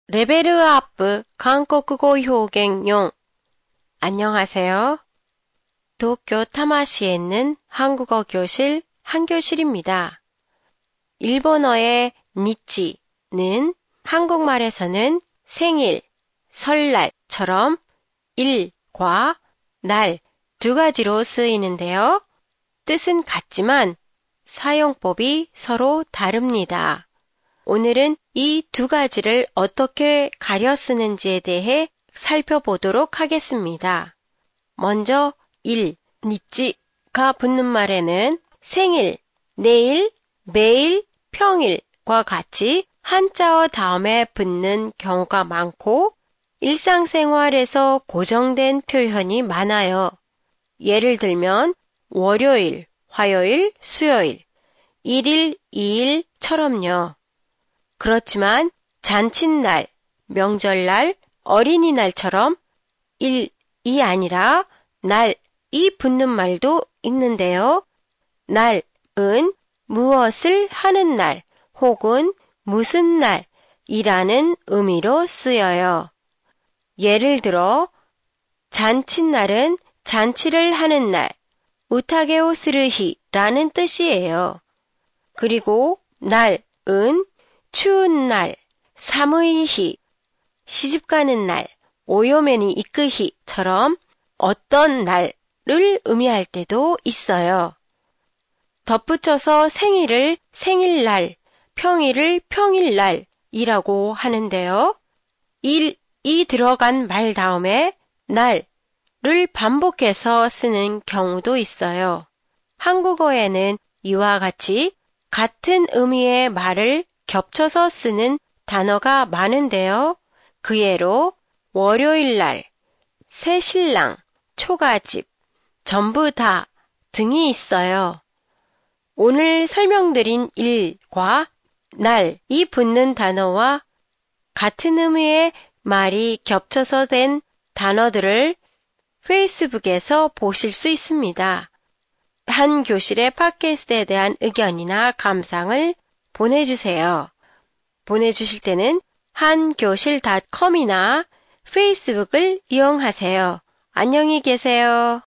레벨업 한국어 효경용. 안녕하세요. 도쿄 타마시에 있는 한국어 교실 한교실입니다. 일본어의 니치는 한국말에서는 생일, 설날처럼 일과 날 두 가지로 쓰이는데요. 뜻은 같지만 사용법이 서로 다릅니다. 오늘은 이 두 가지를 어떻게 가려 쓰는지에 대해 살펴보도록 하겠습니다. 먼저 니치가 붙는 말에는 생일, 내일, 매일, 평일과 같이 한자어 다음에 붙는 경우가 많고 일상생활에서 고정된 표현이 많아요. 예를 들면 월요일, 화요일, 수요일, 1일, 2일처럼요. 그렇지만 잔칫날, 명절날, 어린이날처럼 일이 아니라 날이 붙는 말도 있는데요. 날은 무엇을 하는 날 혹은 무슨 날이라는 의미로 쓰여요. 예를 들어 잔칫날은 잔치를 하는 날, 우타게오 스르히라는 뜻이에요. 그리고 날은 추운 날, 사무이히, 시집가는 날, 오요메니 이끄히처럼 어떤 날을 의미할 때도 있어요. 덧붙여서 생일을 생일날, 평일을 평일날이라고 하는데요. 일이 들어간 말 다음에 날을 반복해서 쓰는 경우도 있어요. 한국어에는 이와 같이 같은 의미의 말을 겹쳐서 쓰는 단어가 많은데요. 그 예로 월요일날, 새신랑, 초가집, 전부 다 등이 있어요. 오늘 설명드린 일과 날이 붙는 단어와 같은 의미의 말이 겹쳐서 된 단어들을 페이스북에서 보실 수 있습니다. 한 교실의 팟캐스트에 대한 의견이나 감상을 보내주세요. 보내주실 때는 한교실.com이나 페이스북을 이용하세요. 안녕히 계세요.